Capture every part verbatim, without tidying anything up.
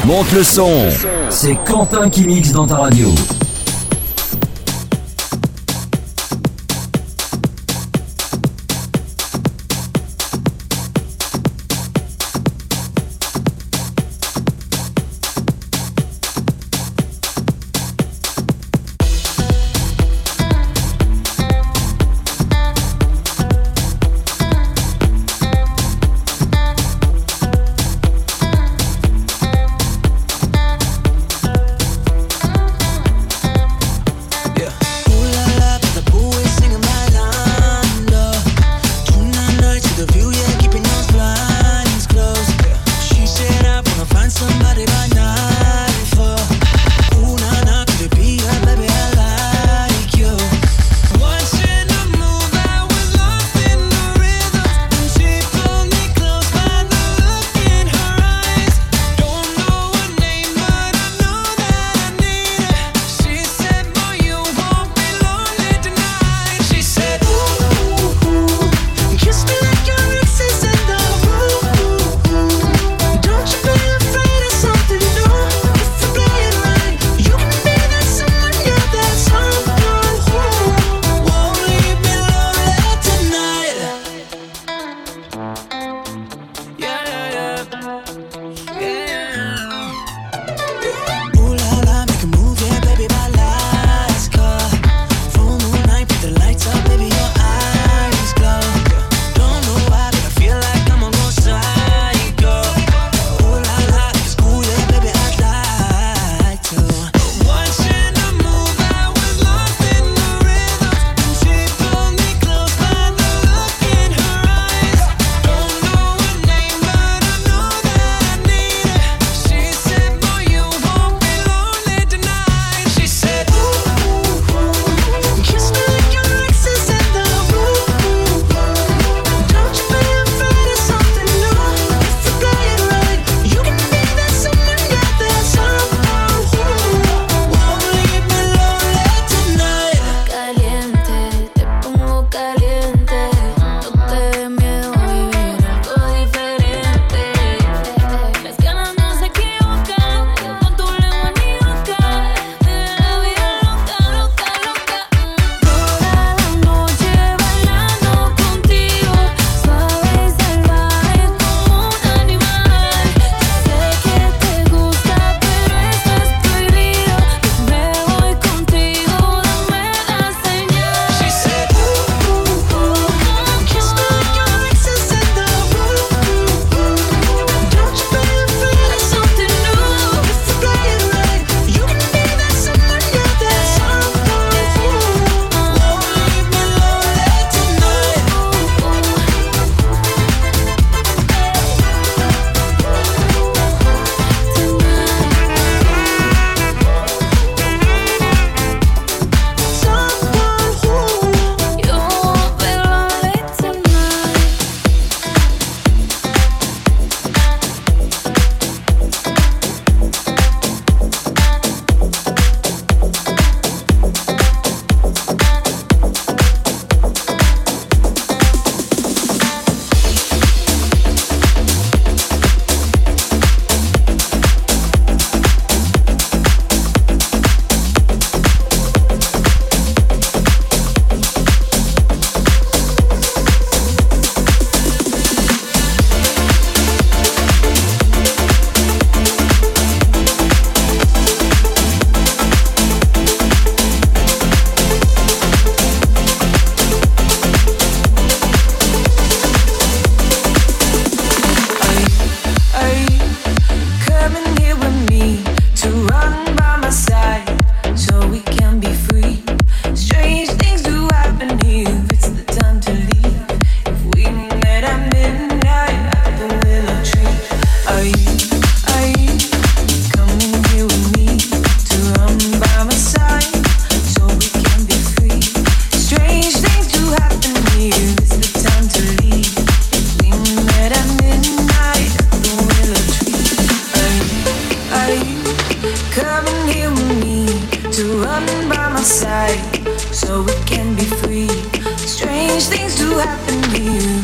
Monte le son, c'est Quentin qui mixe dans ta radio.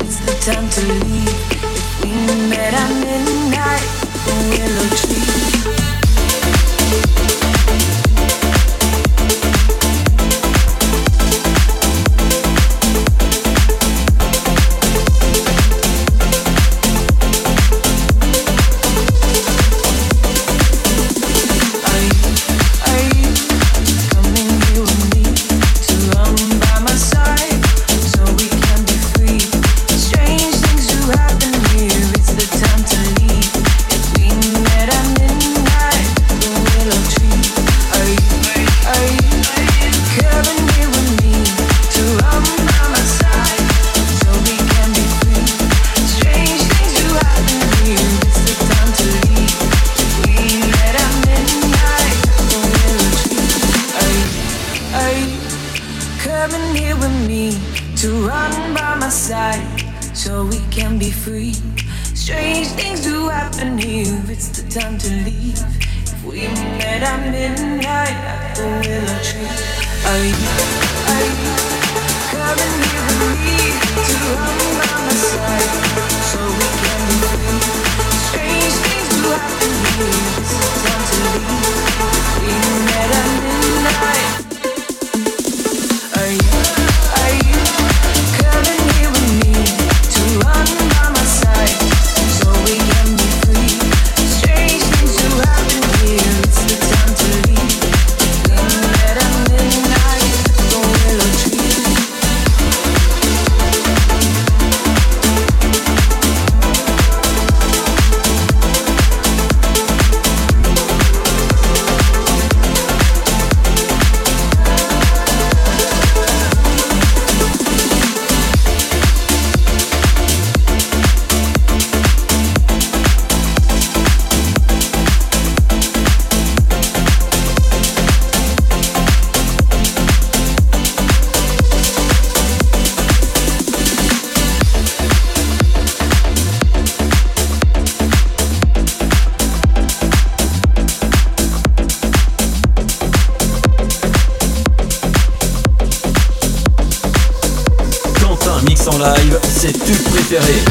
time to leave. If we met at midnight, a willow tree. free. Strange things do happen here, it's the time to leave. If we met at midnight at the willow tree, are you, are you coming here with me to run by my side so we can be free? Strange things do happen here, it's the time to leave. If we met at midnight, are you, are you coming here with me to run by my side so we can be free? Strange things do happen here, it's the time to leave. We met at midnight, the willow tree. Mix en live, c'est tube préféré.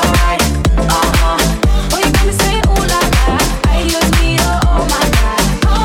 Oh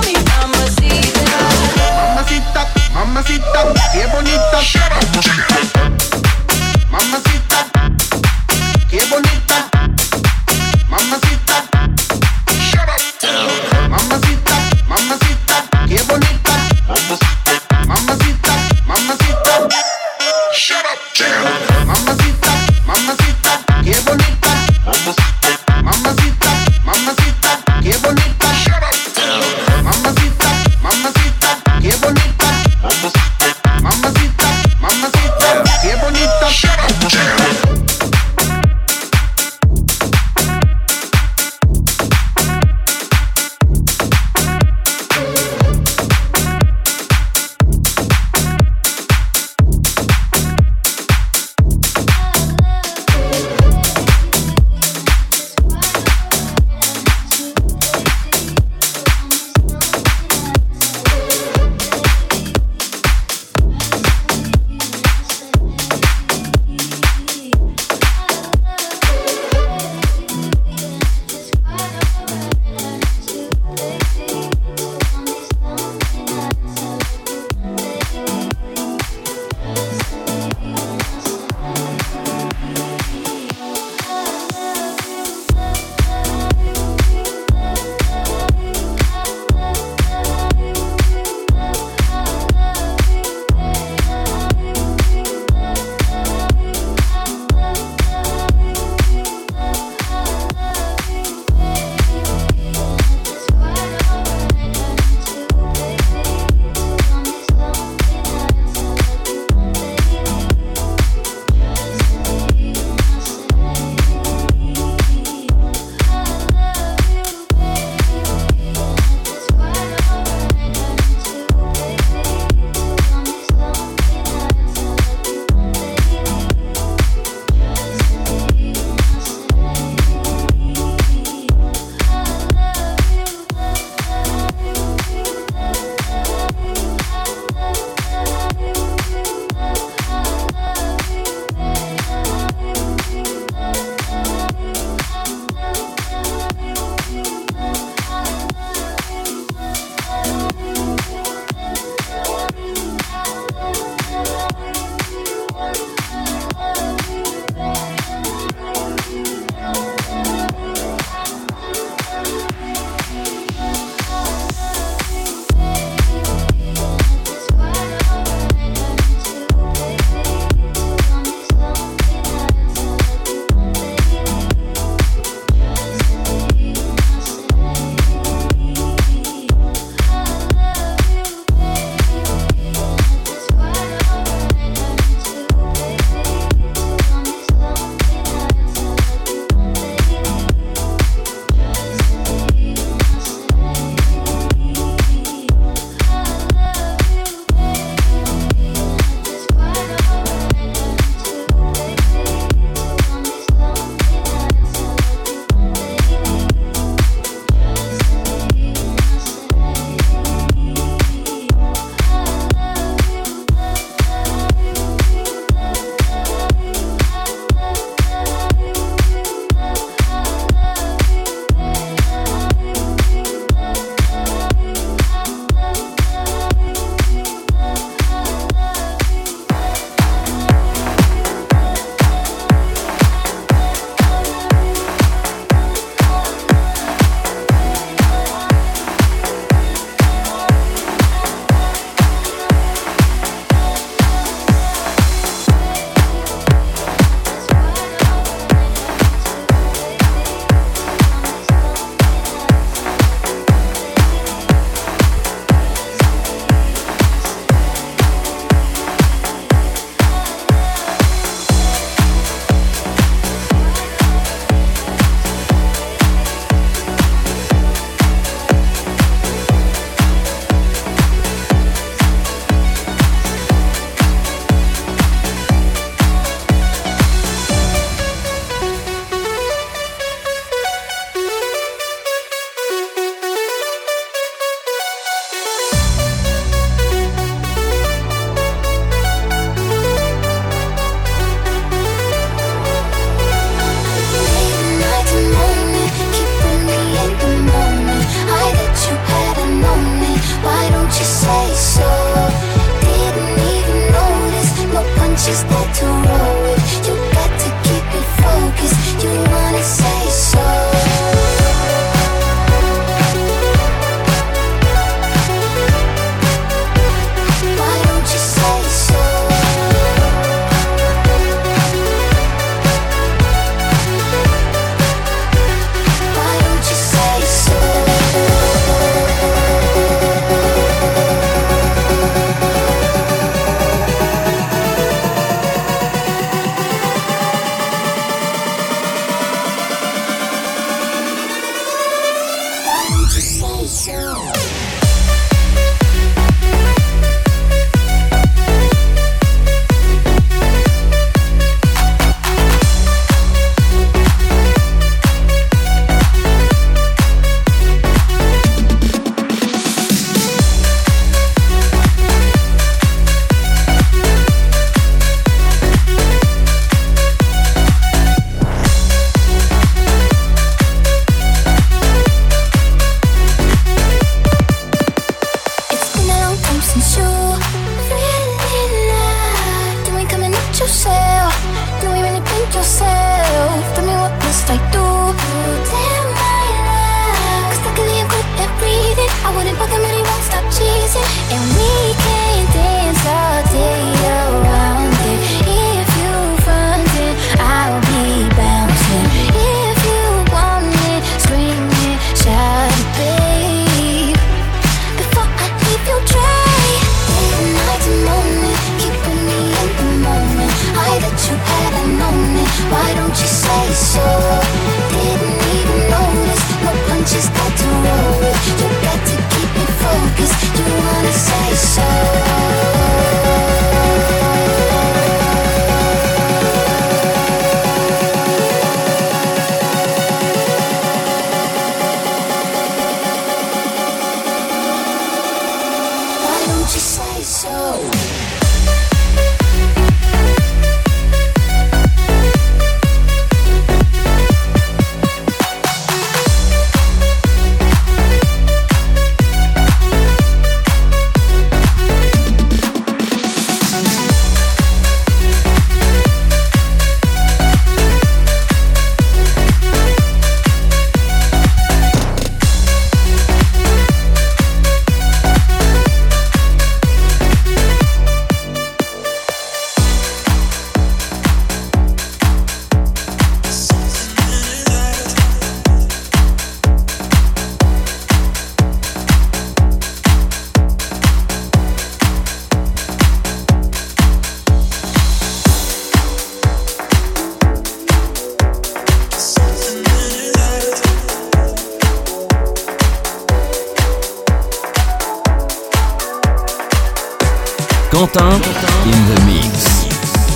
Quentin in the mix.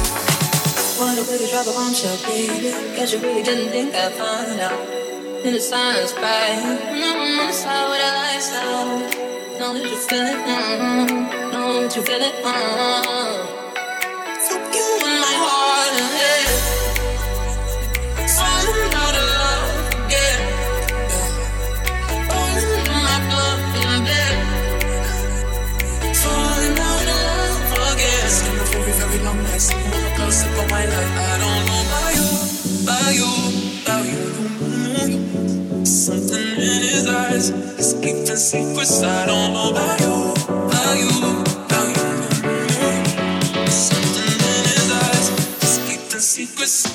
What a way to drop a bombshell, baby. Guess you really didn't think I'd find out. In the silence, right? Mm-hmm, on the side with the lights out. Know that you feel it, mm-hmm. Know that you feel it, mm-hmm. Fuck you in my heart and head. Falling out of love again. Falling in my blood in bed. Falling out of love again. It's been a very, very long night. Sitting on a close up of my life. I don't know about you, about you, about you. Something in his eyes is keeping secrets. I don't know about you, about you, about you. Something in his eyes is keeping secrets.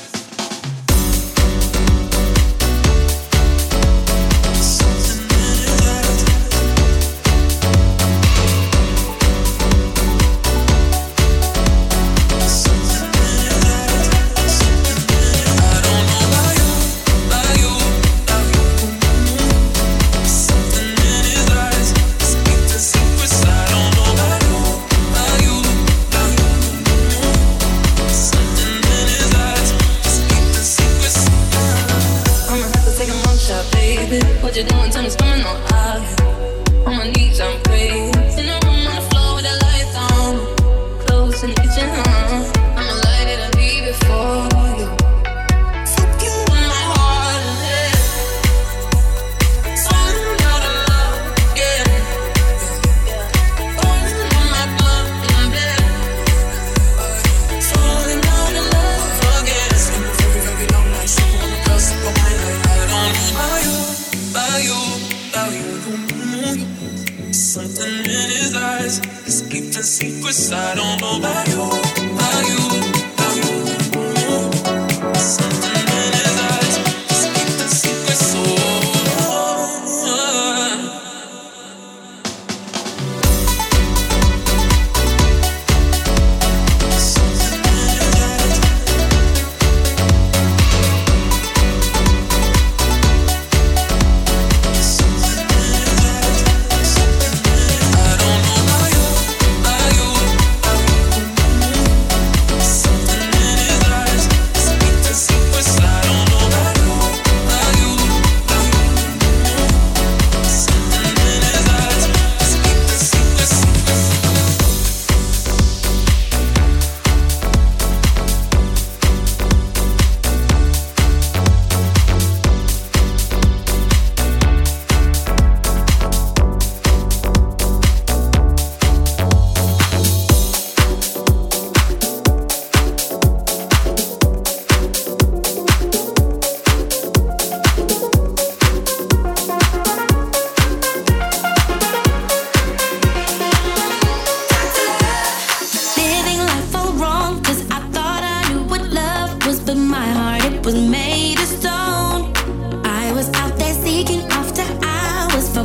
What you doing? Tell me what's going on out here. On my knees, I'm praying. In the room on the floor with the lights on. Close in the kitchen, huh? I'ma light it and leave it for you. Fuck you in my heart and head. Falling out of love again. Falling in my blood in bed. Falling out of love again. It's been a very, very long night. Sitting on the cusp of my life. I don't know about you. About you, about you. Something in his eyes is keeping secrets. I don't know about you, about you, about you. Something in his eyes is keeping secrets. Oh, oh, oh. Something in his eyes.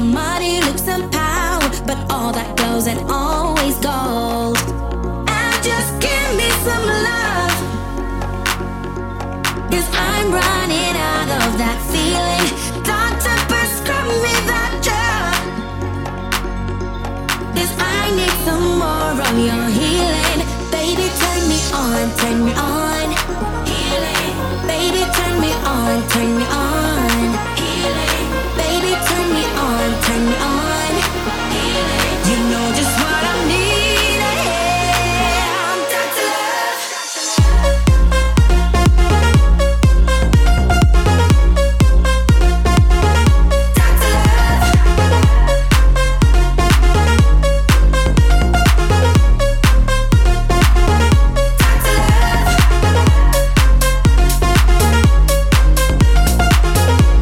money, looks and power, but all that goes and always goes. And just give me some love, 'cause I'm running out of that feeling. Doctor, prescribe me that drug, 'cause I need some more of your healing. Baby, turn me on, turn me on. Healing. Baby, turn me on, turn me on. Healing. Baby, turn me on, turn me on. Healing. You know just what I need. I'm Doctor Love. Doctor Love.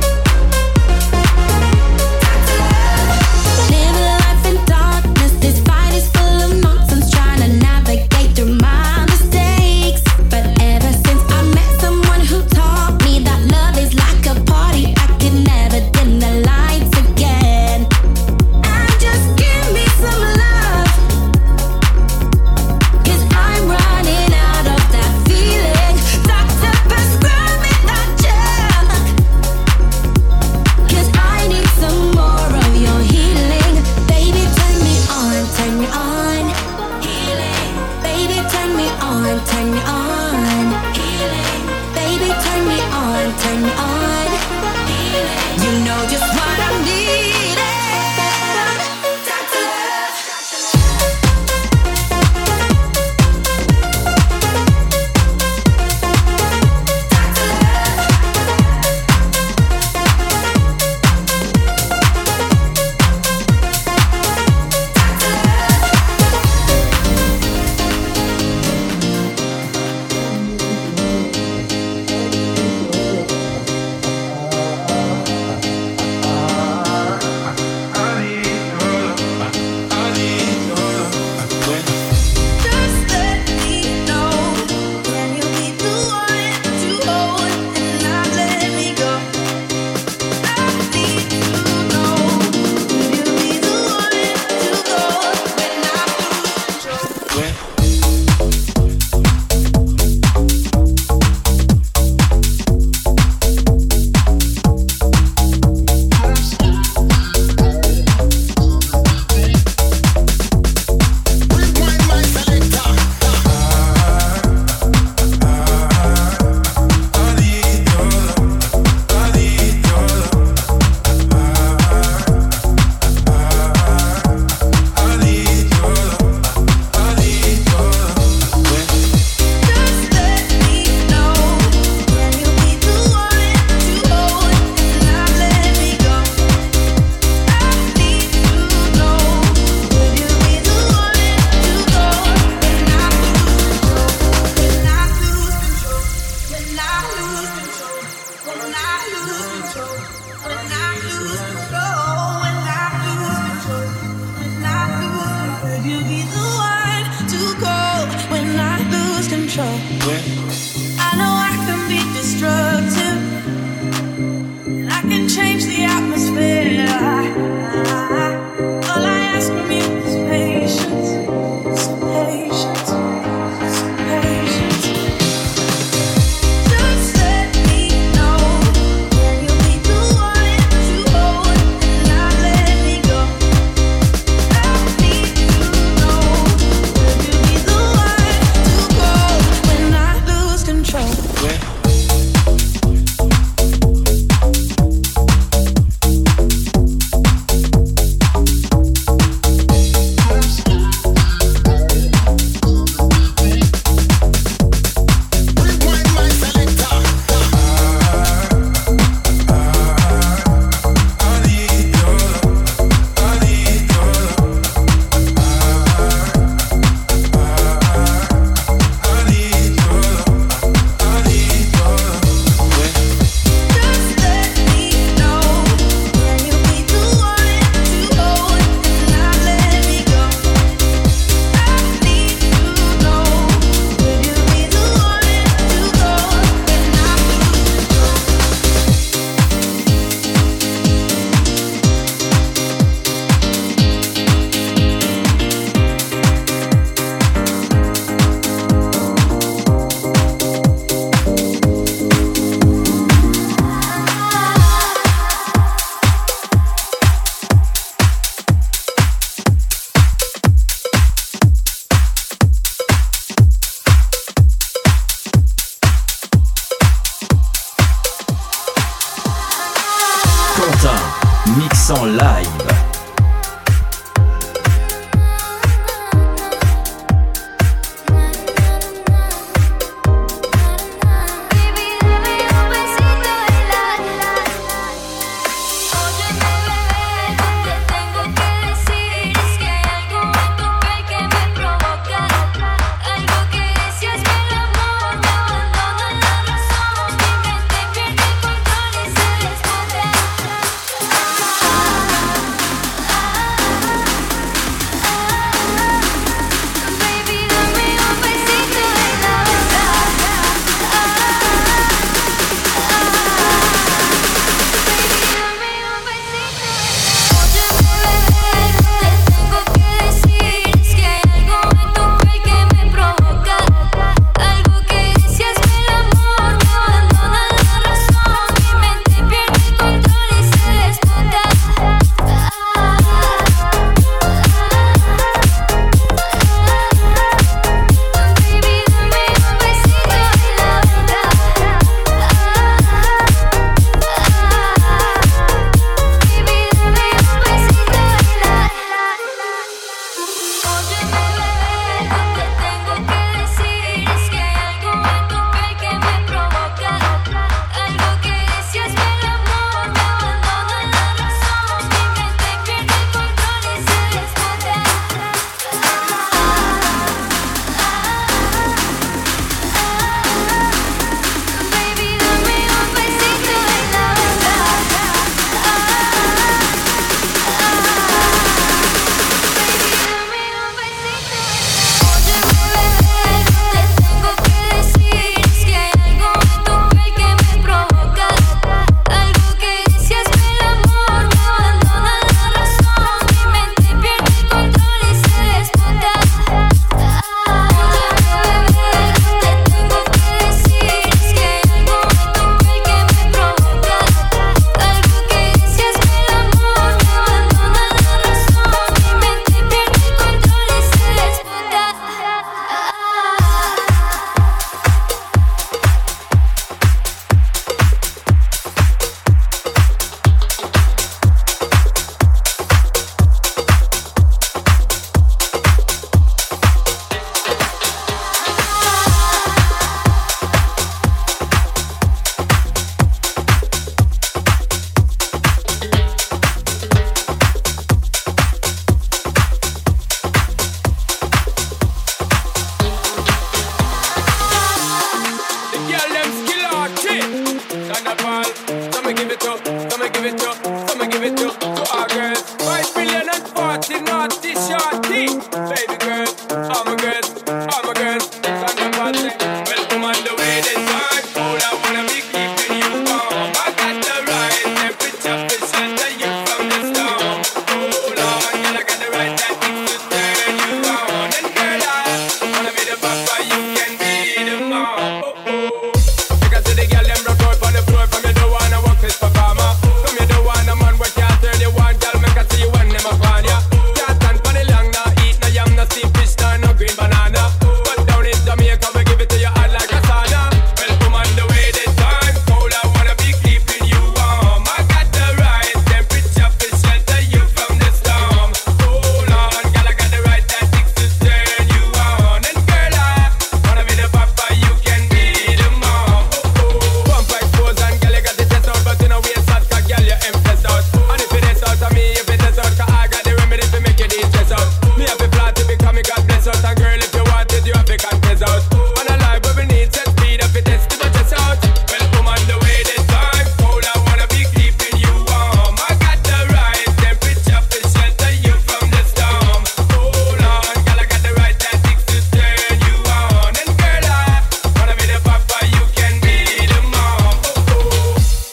naughty, naughty, shorty. Baby girl, I'm a girl, I'm a girl. It's on the party. Welcome on the way this time. Hold I wanna be keeping you warm. I got the right temperature to shelter you from the storm. Hold on, girl, I got the right tactics to turn you on. And girl, I wanna be the papa, you can be the mom. Oh, oh. Because to the girl, them broke out on the floor. From you don't wanna work this performer. From you don't wanna man where can't turn you on. Girl, make I see you when them upon ya. Can't stand for the long, no eat no yam, no steamed fish, no, no green banana. But down in Jamaica, we give it to you hot like a sauna. Welcome on the way this time. Cold, I wanna be keeping you warm. I got the right temperature to shelter you from the storm. Hold on, girl, I got the right tactics to turn you on. And girl, I wanna be the papa, you can be the mom. Oh, oh. Pump expose and girl, you got the test out, but you know we ain't sad, cause girl, you empress out. And if it is out of me, if it is out, cause I got the remedy to make you de-stress out. Me have a plan to become me God bless out. And girl, if you want it, you have to confess out. On a life where we need set speed up, it is to the chest out. Welcome on the way this time. Cold, I wanna be keeping you warm. I got the right temperature to shelter you from the storm. Hold on, girl, I got the right tactics to turn you on. And girl, I wanna be the papa, you can be the mom. Oh, oh.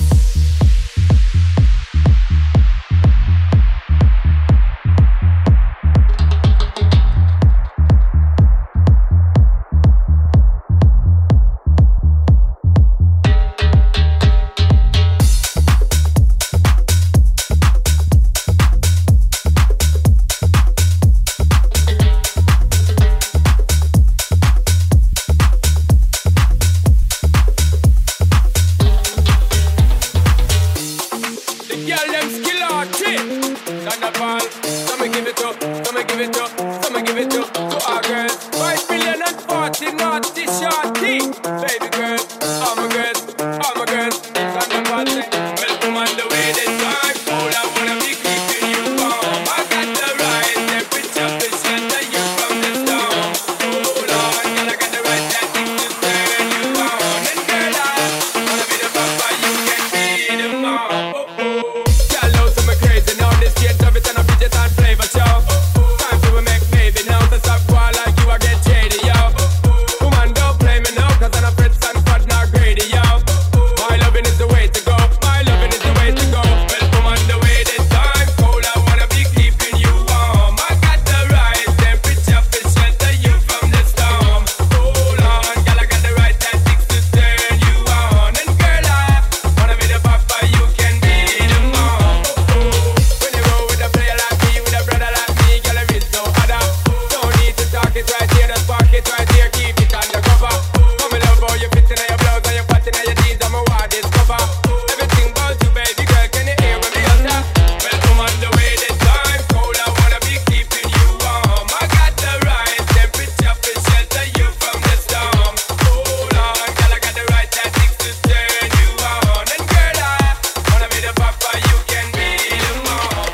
The girl them skill out trick. Thunderball, some me give it up, some me give it up, some me give it up to our girls. Five billion and forty naughty shorty. Baby girl, I'm a girl, I'm a girl. Thunderball, welcome on the way this time. Hold I wanna be keeping you warm. I got the right temperature to shelter you from the storm. Hold on, girl, I got the right tactics to turn you on. And girl, I wanna be the papa, you can be the mom. Oh, oh. Girl, know some me crazy now. This kid of it and a Bridget and flavor show. Time to make baby now. To stop going like you, I get shady, yo. Woman, don't play me now, cause I'm a Fritz and Fud, not greedy, yo. My loving is the way to go. My loving is the way to go. Welcome on the way this time. Cold, I wanna be keeping you warm. I got the right temperature to shelter you from the storm. Hold on, girl, I got the right tactics to turn you on. And girl, I wanna be the papa, you can be the mom. Oh, oh. When you roll with a player like me, with a brother like me, girl, there is no other. Don't need to talk it right here, just park it right here, keep it undercover. Come and love how you fit in your blouse and your pattern and your jeans, I'm a wild discover. Everything about you, baby girl, can you hear me utter? Welcome on the way this time. Cold, I wanna be keeping you warm. I got the right temperature to shelter you from the storm. Hold on, girl, I got the right tactics to turn you on. And girl, I wanna be the papa, you can be the mom.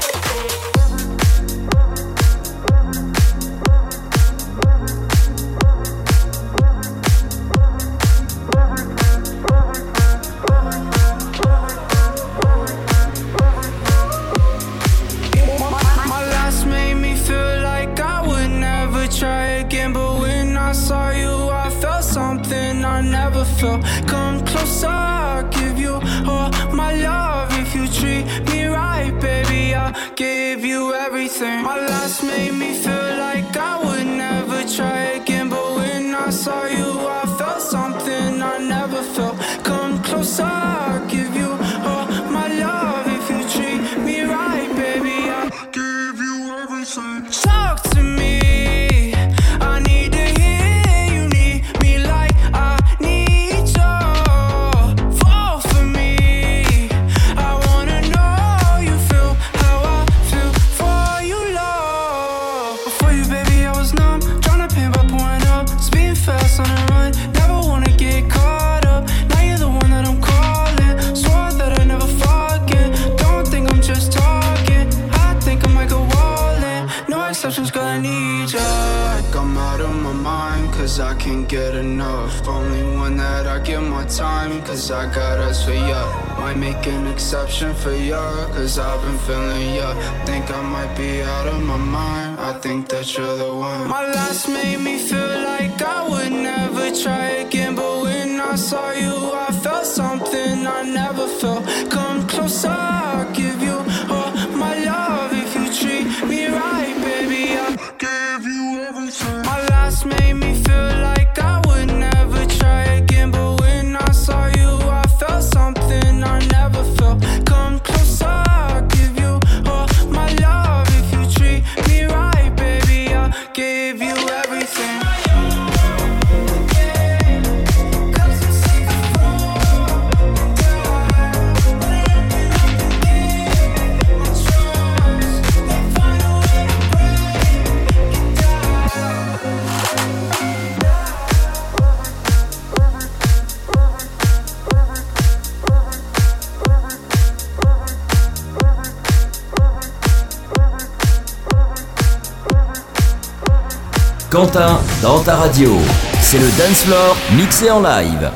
My last made me feel like I would never try again. But when I saw you, I felt something I never felt. Come closer, I'll give you all my love. If you treat me right, baby, I'll give you everything. My last made me feel like I would never try again. But when I saw you, I felt something I never felt. Come closer, I'll give you all my love. If you treat me right, baby, I'll give you everything. Talk to me, I need to hear you need me like I need you. Fall for me, I wanna know you feel how I feel for you, love. Before you, baby, I was numb, tryna paint by pouring up, speeding fast on the run, never wanna get caught up. Now you're the one that I'm calling, swore that I never forget. Don't think I'm just talking, I think I might go all in. No exceptions, girl, I need ya. Like I'm out of my mind, cause I can't get enough. Only one that I give my time, cause I got us for ya. Might make an exception for ya, cause I've been feeling ya. Think I might be out of my mind, I think that you're the one. My last made me feel like I would never try again, but when I saw you I felt something I never felt. Come closer, I'll give you all my love. If you treat me right, baby, I'll give you everything. My last made me feel like I would never try again, but when I saw you I felt something I never felt. Come closer, I'll give you all my love. If you treat me right, baby, I'll give you everything. Quentin, dans ta radio, c'est le Dance Floor mixé en live.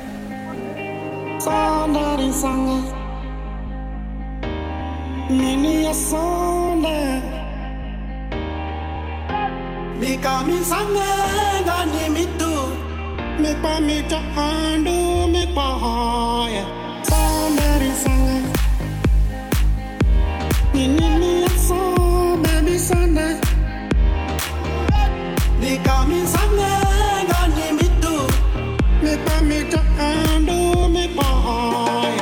They got me somewhere, got me too. Me pa me to handle me boy.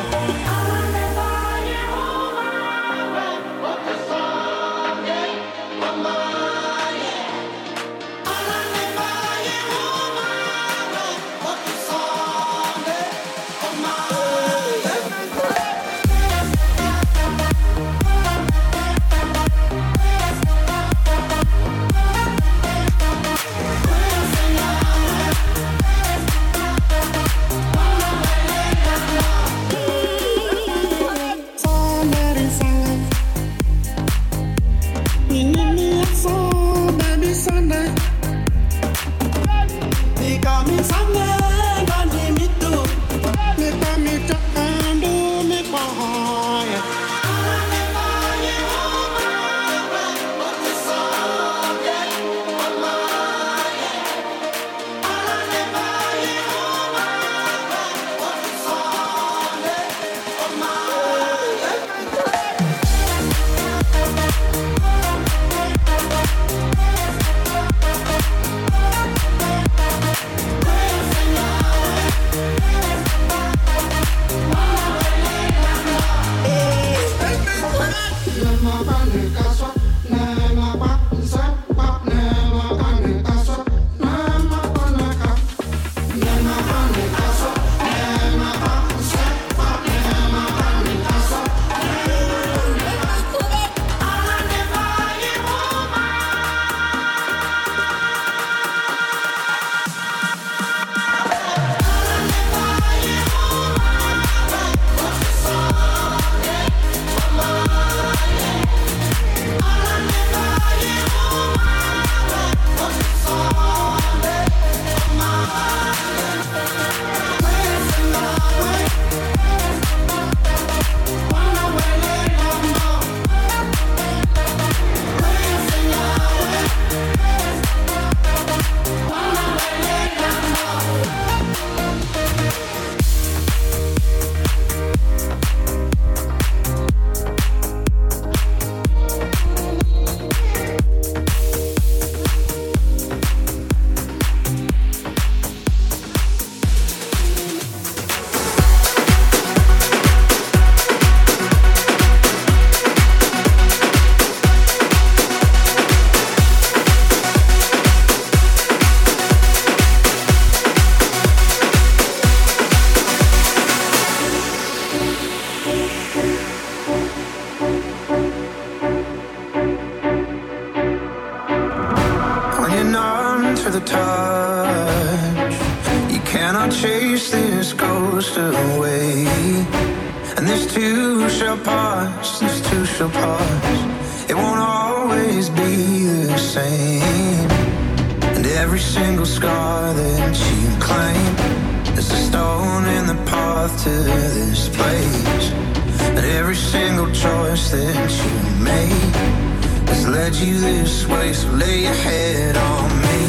There's a stone in the path to this place. And every single choice that you made has led you this way. So lay your head on me.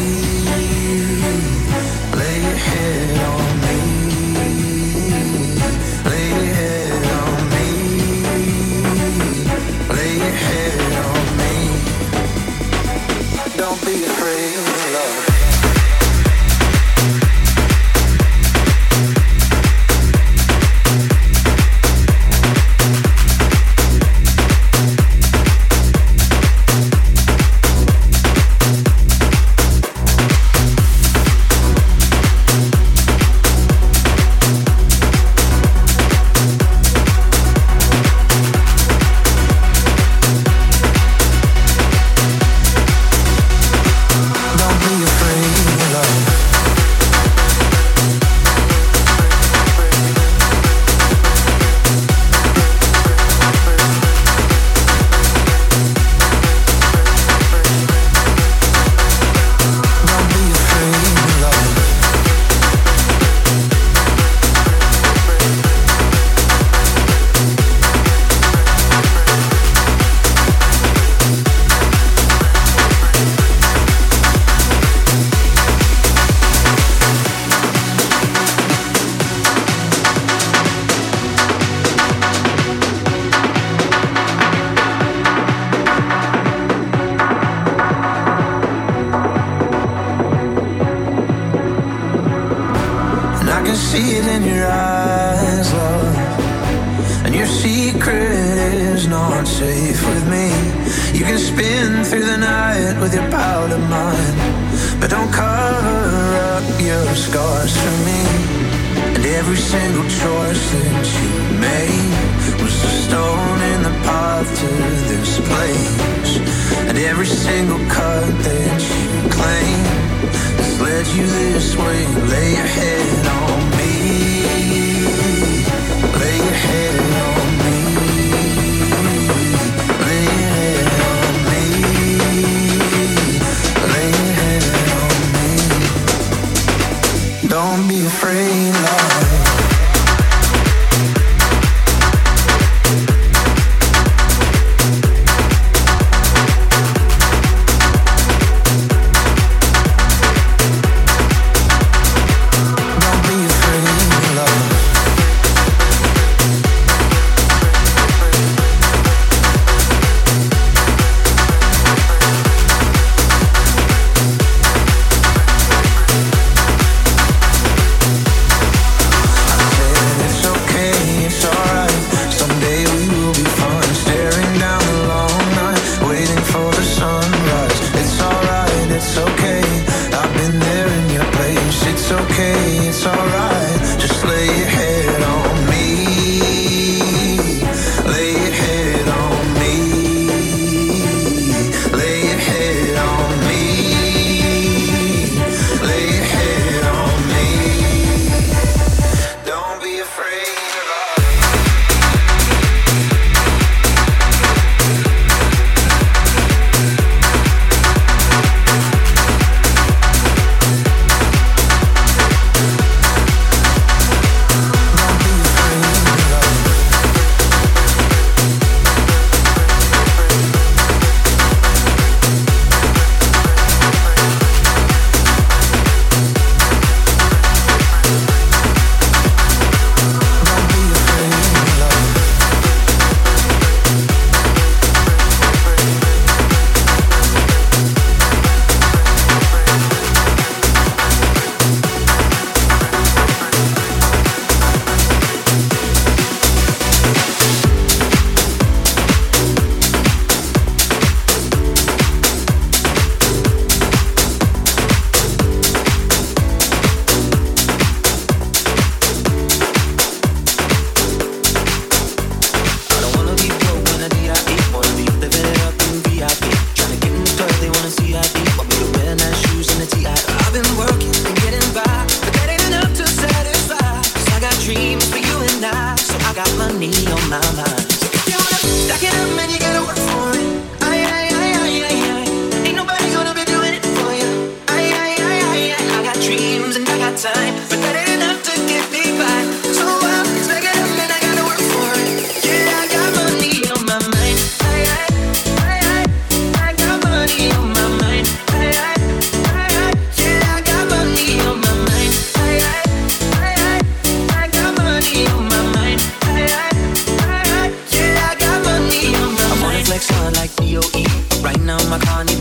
Lay your head on me. Lay your head on me. Lay your head on me. Don't be afraid of love.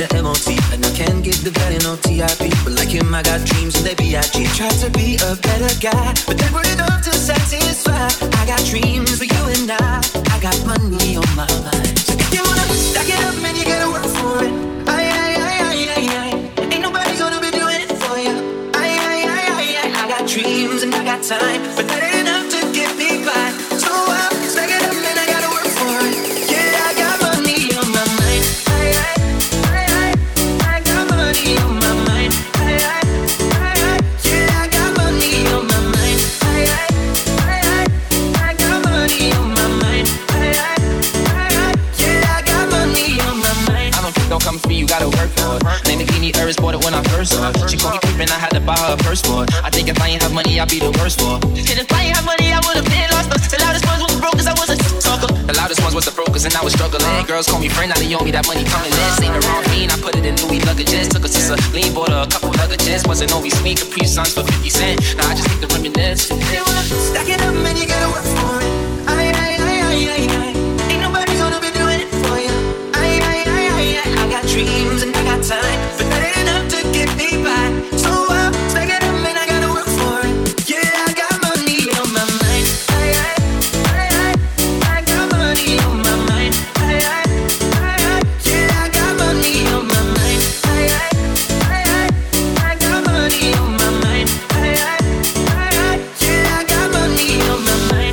the M O T, and I can't give the better no T I P. But like him, I got dreams and they B I G. Tried to be a better guy, but they were enough to satisfy. I got dreams for you and I. I got money on my mind. So if you wanna stack it up, man, you gotta work for it. Aye, aye, aye, aye, aye, aye. Ain't nobody gonna be doing it for you. Aye, aye, aye, aye, aye. I got dreams and I got time, but that ain't enough to get me by. So I'll stack it up, man, I gotta work for it. Yeah, I got money on my mind. Aye, aye, aye, aye. I got money on my mind. Aye, aye, aye, aye. Yeah, I got money on my mind. Aye, aye, aye, aye. I got money on my mind. Aye, aye, aye, aye. Yeah, I got money on my mind. I don't think don't come for me, you gotta work for it. Lamborghini Urus bought it when I first saw it. She called me creepin', I had to buy her a first for it. I think if I ain't have money, I'd be the worst for it. And if I ain't have money, I would've been lost. The loudest ones was the brokers, I was a talker. The loudest ones was the brokers, and I was struggling. Girls call me friend, now they owe me that money coming in. Ain't the wrong mean, I put it in Louis luggages. Took her to Celine, bought her a couple luggages. Wasn't always sweet, Capri Suns for fifty cent. Now I just take the reminisce. You wanna stack it up, man, you gotta work for it. Aye, aye, aye, aye, aye, aye. Ain't nobody gonna be doing it for you. Aye, aye, aye, aye, aye. I got dreams and I got time, but that ain't enough to get me by. So I'll stack it up, man, I gotta work for it. Yeah, I got money on my mind. Aye, aye, aye, aye. I got money on my mind. Aye, aye, aye, aye. Yeah, I got money on my mind. Aye, aye, aye, aye. I got money on my mind. Aye, aye, aye, aye. Yeah, I got money on my mind.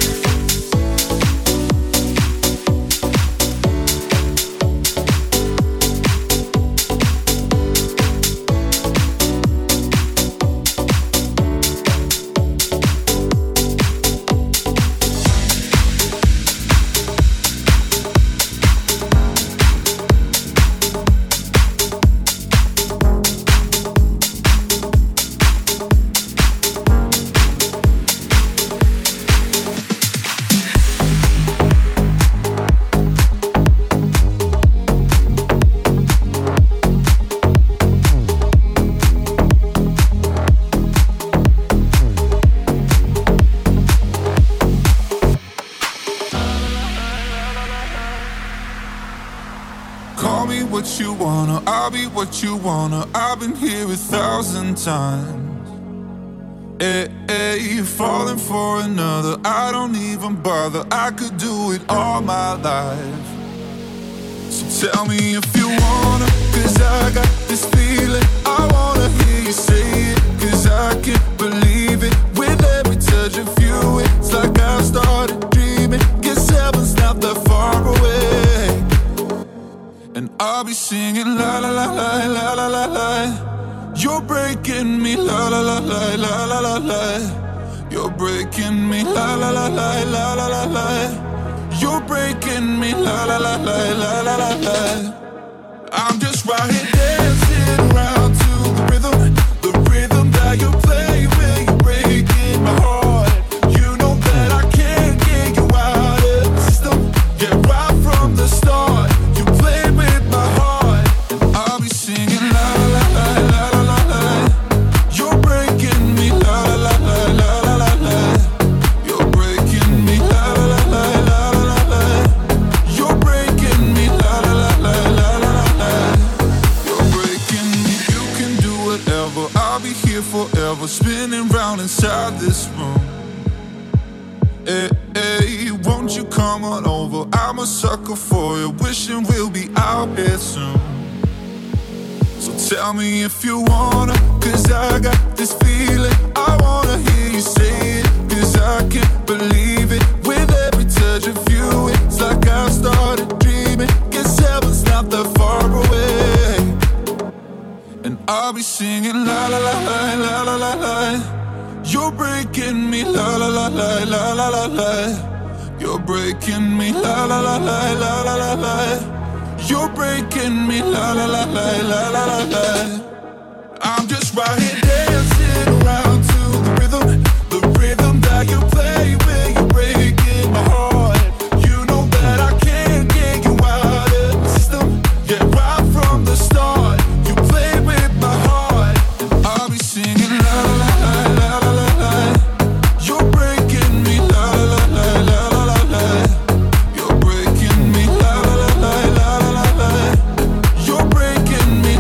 Call me what you wanna, I'll be what you wanna. I've been here a thousand times. Hey, hey, you're falling for another, I don't even bother. I could do it all my life. So tell me if you wanna, cause I got this feeling. I wanna hear you say it, cause I can't believe it. With every touch of you, it's like I've started dreaming. Guess heaven's not that far away. And I'll be singing la la la la la la la la. You're breaking me la la la la la la la la. You're breaking me la la la la la la la la. You're breaking me la la la la la la la la. I'm just right here dancing around to the rhythm, the rhythm that you play when you're breaking my heart. You know that I can't get you out of the system. Yeah, right from the start. Forever spinning round inside this room. Hey, hey, won't you come on over? I'm a sucker for you, wishing we'll be out here soon. So tell me if you wanna, cause I got this feeling. I wanna hear you say it, cause I can't believe it. With every touch of you, it's like I started dreaming. Guess heaven's not that far away. And I'll be singing la la la la la la la la. You're breaking me la la la la la la la la. You're breaking me la la la la la la la la. You're breaking me la la la la la la la la. I'm just right here dancing around to the rhythm, the rhythm that you play when you're breaking my heart. You know that I can't get you out of the system. Yeah, right from the start. You're breaking me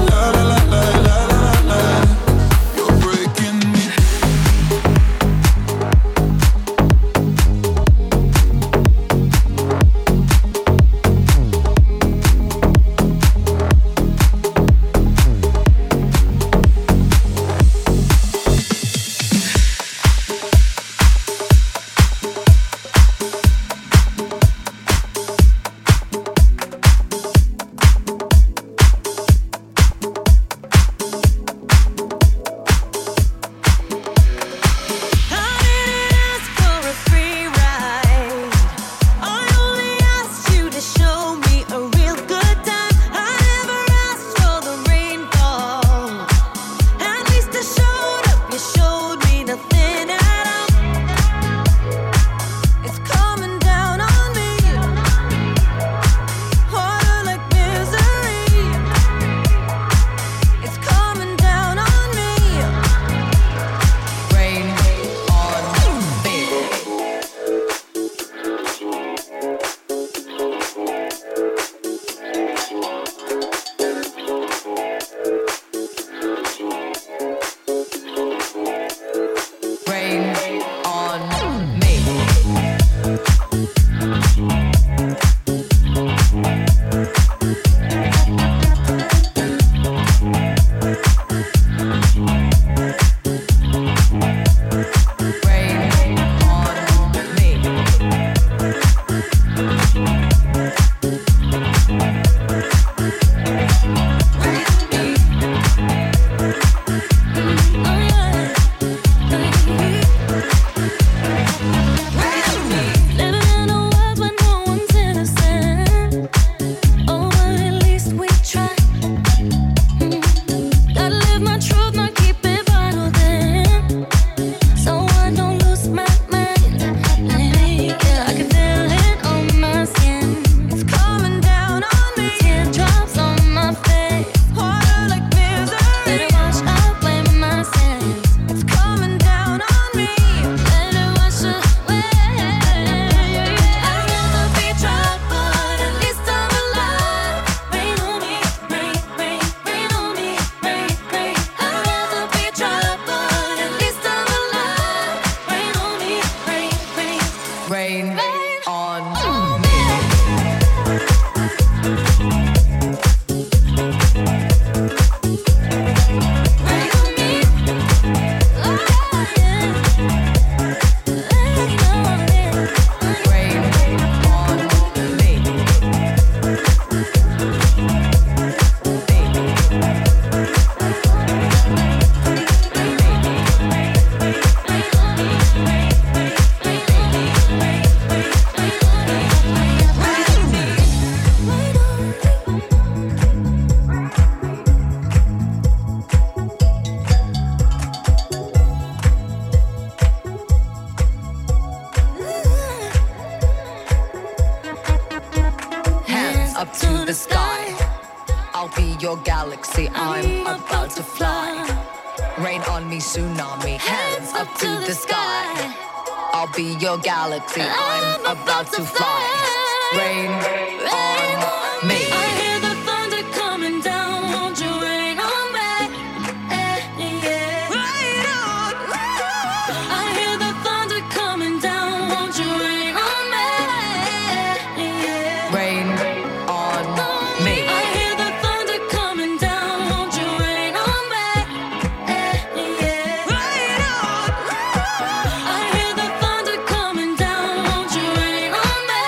Galaxy, I'm about to fly. Rain on me. I hear the thunder coming down. Won't you rain on me? Eh, yeah. Rain on me. I hear the thunder coming down. Won't you rain on me? Yeah. Rain on me. I hear the thunder coming down. Won't you rain on me? Eh, yeah. Rain on me. I hear the thunder coming down. Won't you rain on me?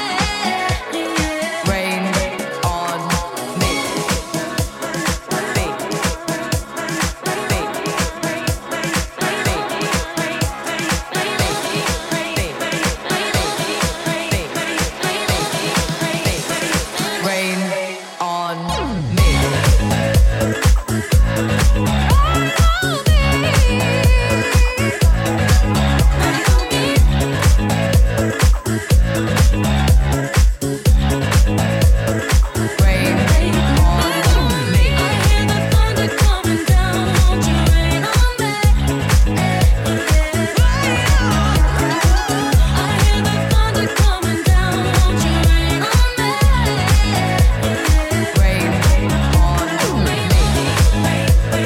Yeah. Rain on me. Rain on me. Rain on me. I hear the thunder coming down. Won't you rain on me? I hear the thunder coming down. Won't you rain on me? Rain on me.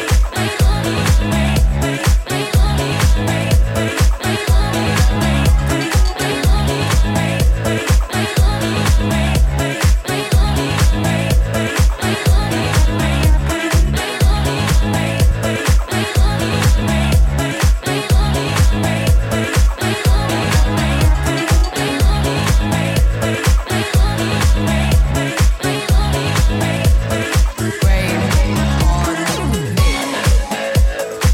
Rain on me.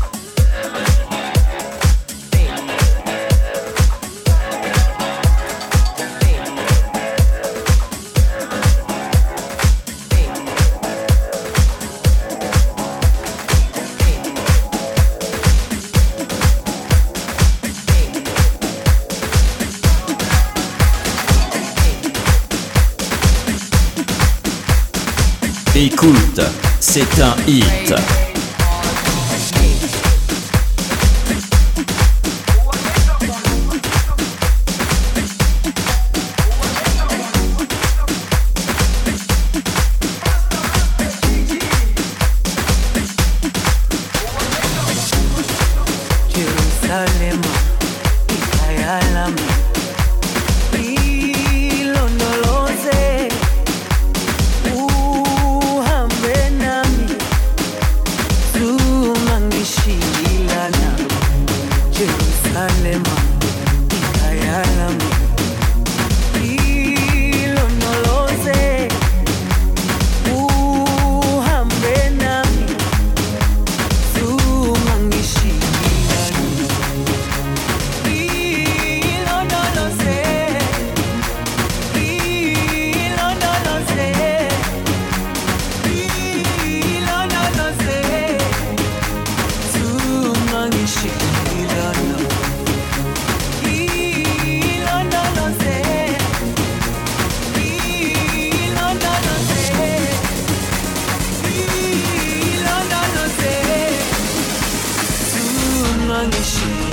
Écoute, c'est un hit. Jerusalem, ikayalami, ilondoloze, uhambe nami, tumangishilana. Jerusalem, ikayalami, ilondoloze, uhambe nami, tumangishilana. Ilondoloze, ilondoloze, ilondoloze, tumangishilana. Ilondoloze, ilondoloze, ilondoloze, tumangishilana.